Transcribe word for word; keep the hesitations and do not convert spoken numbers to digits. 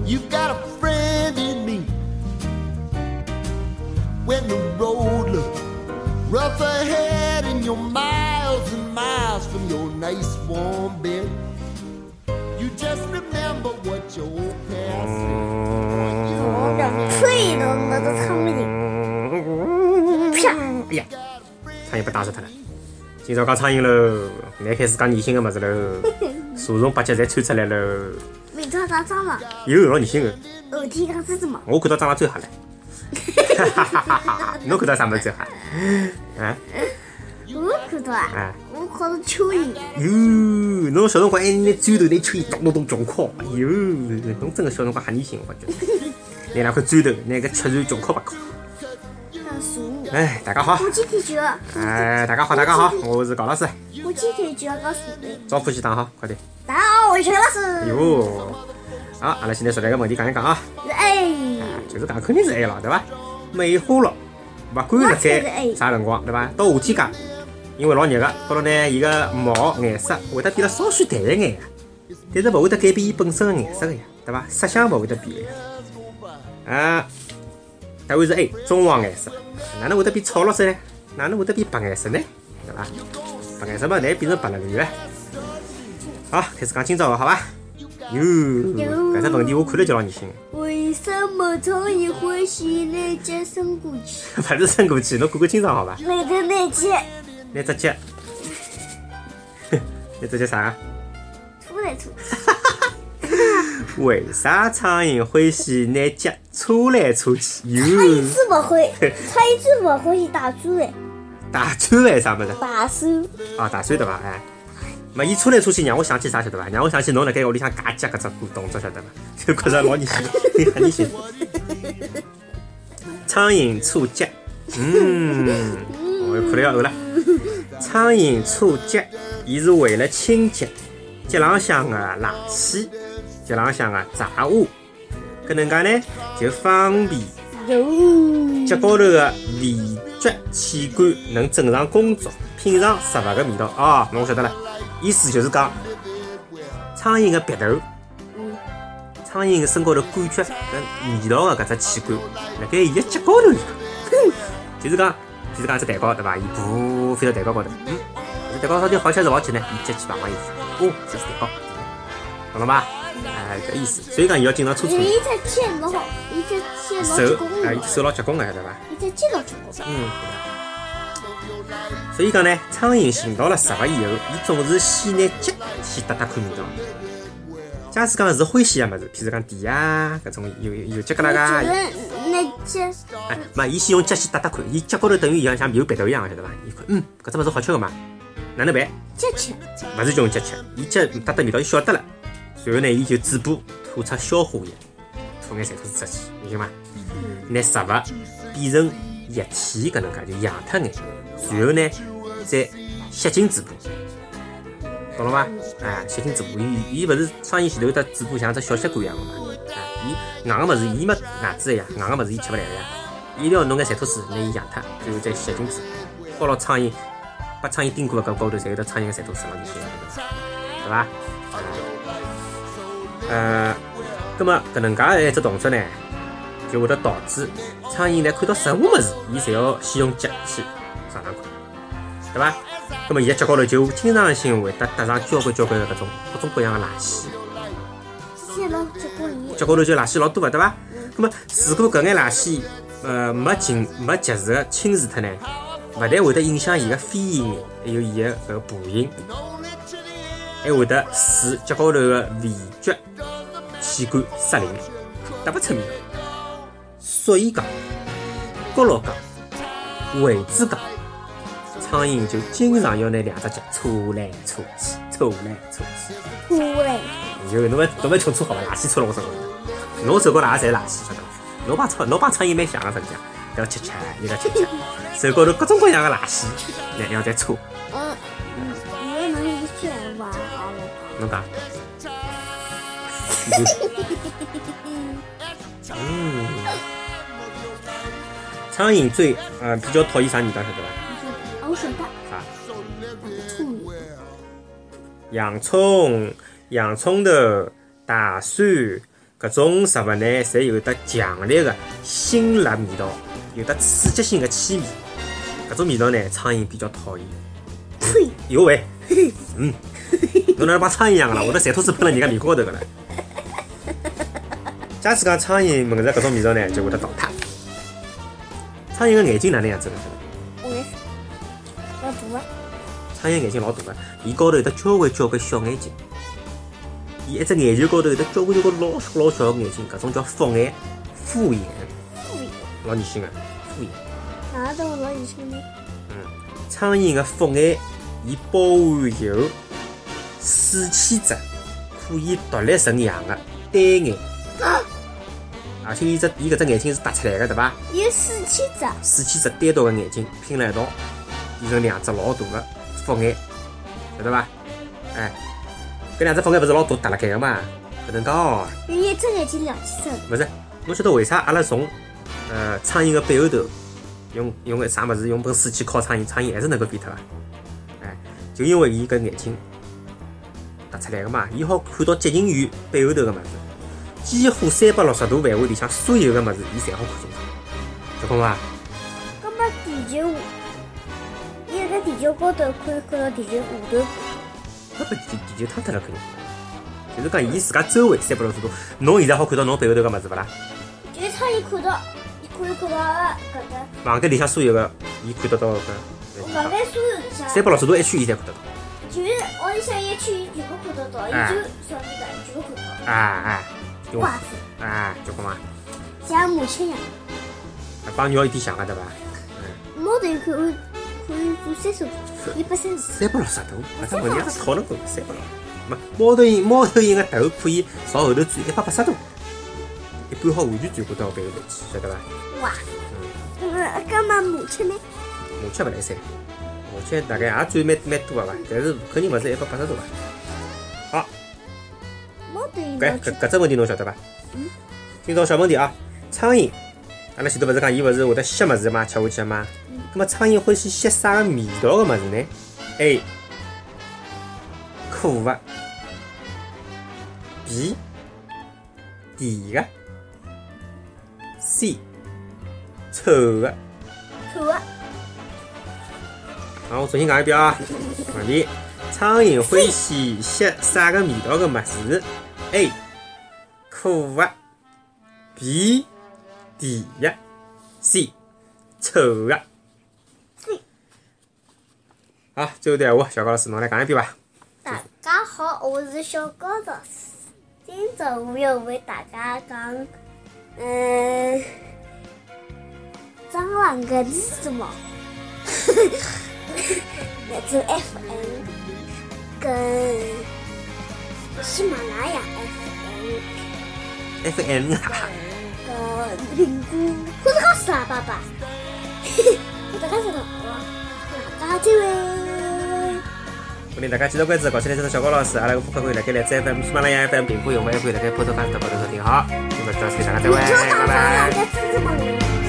You've got a friend in me. When the road looks rough ahead and you're miles and miles from your nice warm bed, you just remember what your old past said. 我两脆的那个苍蝇，啪！ 哎呀，苍蝇不打死他了。今朝讲苍蝇喽，来开始讲恶心的么子喽，蛇虫八脚侪窜出来喽。 没抓到蟑螂， 有老恶心的， 耳体刚是什么？ 我看到蟑螂最吓了。哈哈哈哈哈！侬看到啥么子最吓？啊？ 我看到啊，我看到蚯蚓。 哟，侬小辰光还拿砖头拿蚯蚓咚咚咚撞敲，哟，侬真个小辰光吓恶心，我觉得。拿两块砖头，拿个吃船撞敲吧敲。 像鼠。 哎，大家好。 我今天就要。 哎，大家好，大家好，我是高老师。 我今天就要告诉你。 招呼起打好，快点。 大家好，我是陈老师。 哟，好，阿拉现在说来个问题讲一讲啊。 哎。 就是讲肯定是 A 了，对伐？美化了，勿管辣盖啥辰光，对伐？到夏天讲，因为老热个，到了呢，伊个毛颜色会得变得稍许淡一眼，但是勿会得改变伊本身的颜色个呀，对伐？色相勿会得变个。啊，答案是 A， 棕黄颜色。哪能会得变草绿色呢？哪能会得变白颜色呢？对伐？白颜色嘛，难变成白了绿个。好，开始讲今朝个，好伐？哟，搿只问题我看了就老恶心。 为什么苍蝇会喜那只伸过去？ 勿是伸过去，侬看看清爽好伐？ 那个那只， 那只脚，那只叫啥？ 出来出。 为啥苍蝇欢喜拿脚搓来搓去？哟， 它一次不会，它一次不会打出来。 打转来啥么子？ 打手。 啊，打转对伐？哎。嘛，伊搓来搓去，让我想起啥晓得伐？让我想起侬辣盖屋里向夹脚搿只动作晓得伐？就觉着老恶心，很恶心。苍蝇搓脚，嗯，我又看了要呕了。苍蝇搓脚，伊是为了清洁脚浪向个垃圾，脚浪向个杂物，搿能介呢就方便脚高头个味觉器官能正常工作，品尝食物个味道。哦，侬晓得了。意思就是讲，苍蝇个鼻头，苍蝇个身高头感觉搿味道个搿只器官，辣盖伊个脚高头，就是讲，就是讲一只蛋糕对伐？伊噗飞到蛋糕高头，嗯，这蛋糕到底好吃还是勿好吃呢？伊接去碰碰伊，哦，这是蛋糕，懂了吧？哎，搿意思。所以讲伊要经常搓搓。 伊只脚老好，伊只脚老结棍个。 啊，伊手老结棍个，对伐？ 伊只脚老结棍。 嗯。所以讲呢，苍蝇寻到了食物以后，伊总是先拿脚先搭搭看味道。假使讲是欢喜个物事，譬如讲甜啊，搿种有有脚疙瘩噶。 那脚。 哎，嘛，伊先用脚先搭搭看，伊脚高头等于像像有鼻头一样，晓得伐？伊看，嗯，搿只物事好吃个嘛，哪能办？ 脚吃。 勿是叫用脚吃，伊脚搭搭味道，伊晓得了。然后呢，伊就嘴巴吐出消化液，吐眼馋吐出去，明白吗？拿食物变成液体，搿能介就养脱眼。然后呢，再吸进嘴巴，懂了吗？哎，吸进嘴巴，伊伊勿是苍蝇前头有得嘴巴像只小吸管一样个嘛？哎，伊硬个物事，伊没牙齿个呀，硬个物事伊吃勿来个呀，伊一定要弄眼馋吐水拿伊养脱，然后再吸进嘴巴。包牢苍蝇，把苍蝇叮过搿高头，侪有得苍蝇个馋吐水老恶心个，对伐？呃，葛末搿能介个一只动作呢，就会得导致苍蝇呢看到任何物事，伊侪要先用脚去尝尝看，对伐？那么伊个脚高头就经常性会得搭上交关交关个搿种各种各样个垃圾。脚高头就垃圾老多个，对伐？那么如果搿眼垃圾呃没尽没及时个清除脱呢，勿但会得影响伊个飞行，还有伊个搿个步行，还会得使脚高头个味觉器官失灵，搭勿出味道。所以讲，角落讲，位置讲，苍蝇就经常要拿两只脚搓来搓去，搓来搓去。 搓来。 有侬勿侬勿穷搓好伐？垃圾搓了我手高头，侬手高头也侪垃圾，晓得伐？侬帮苍侬帮苍蝇蛮像个实际上，要吃吃，伊要吃吃，手高头各种各样个垃圾，然后再搓。 嗯，你能一选吧？好了。 侬讲。嗯。苍蝇最呃比较讨厌啥味道，晓得伐？ 我晓得。 啥？ 葱。 洋葱、洋葱头、大蒜、 搿种食物呢，侪有得强烈的辛辣味道，有得刺激性的气味。搿种味道呢，苍蝇比较讨厌。 呸！ 有喂，嗯，侬哪能帮苍蝇一样个啦？我都馋吐水喷了人家面高头个了。假使讲苍蝇闻着搿种味道呢，就会得逃脱。苍蝇个眼睛哪能样子呢？ 我没老大啊！ 苍蝇眼睛老大个，伊高头有得交关交关小眼睛。伊一只眼球高头有得交关交关老小老小个眼睛，搿种叫复眼、复眼， 复眼， 老恶心个复眼。 哪都老恶心的。 嗯，苍蝇个复眼，伊包含有水栖质，可以独立成样个单眼，而且伊只伊搿只眼睛是凸出来个，对伐？ 有水栖质， 水栖质单独个眼睛拼辣一道，变成两只老大个复眼，晓得伐？哎。搿两只复眼勿是老大凸辣盖个嘛？搿能介哦。 有一只眼睛两千只。 勿是，侬晓得为啥阿拉从呃苍蝇个背后头用用个啥物事用本水去敲苍蝇，苍蝇还是能够变脱个？哎，就因为伊搿眼睛凸出来个嘛，伊好看到接近于背后头个物事，几乎三百六十度范围里向所有个物事，伊侪好看清楚，结棍伐？ 葛末地球，伊辣盖地球高头可以看到地球下头。 搿不地地球塌脱了肯定，就是讲伊自家周围三百六十度，侬现在好看到侬背后头个物事勿啦？ 就是苍蝇看到，伊可以看到搿个房间里向所有个，伊看得到搿。 房间所有里向三百六十度一圈，伊侪看得到。 就是屋里向一圈，伊全部看得到，伊就小米的全部看得到。 哎哎，就哇塞！ 哎，结棍伐？ 像马吃一样。 帮鸟有点像个对伐？ 猫头鹰可以可以做三十度，一百三十。 三百六十度，搿只问题也是讨论过，三百六。没猫头鹰，猫头鹰个头可以朝后头转一百八十度，一般好完全转过到背后头去，晓得伐？ 哇！嗯，搿么马吃呢？ 马吃勿来三，马吃大概也转蛮蛮多个伐，但是肯定勿是一百八十度伐。好， 猫头鹰搿搿搿只问题侬晓得伐？嗯。今朝小问题啊，苍蝇，阿拉前头勿是讲伊勿是会得吸物事嘛，吃下去嘛？嗯。咁么苍蝇欢喜吸啥个味道个物事呢 ？A. 苦个 ，B. 甜个 ，C. 臭个。 臭个。 好，我重新讲一遍啊。问题：苍蝇欢喜吸啥个味道个物事 ？A. 苦个 ，B. 甜个 ，C. 臭个。 C。 好，最后一段话，小高老师侬来讲一遍吧。 大家好，我是小高老师。今朝我要为大家讲，嗯，蟑螂个是什么？那只 F M 跟喜马拉雅 F M 啊。 跟苹果，或者讲傻爸爸，或者讲什么？大家再会。 欢迎大家继续关注搞起来这个小高老师，阿拉个播客可以辣盖荔枝 F M、喜马拉雅 F M、苹果用户也可以辣盖 Podcast 高头收听。好，今朝到此，大家再会，拜拜。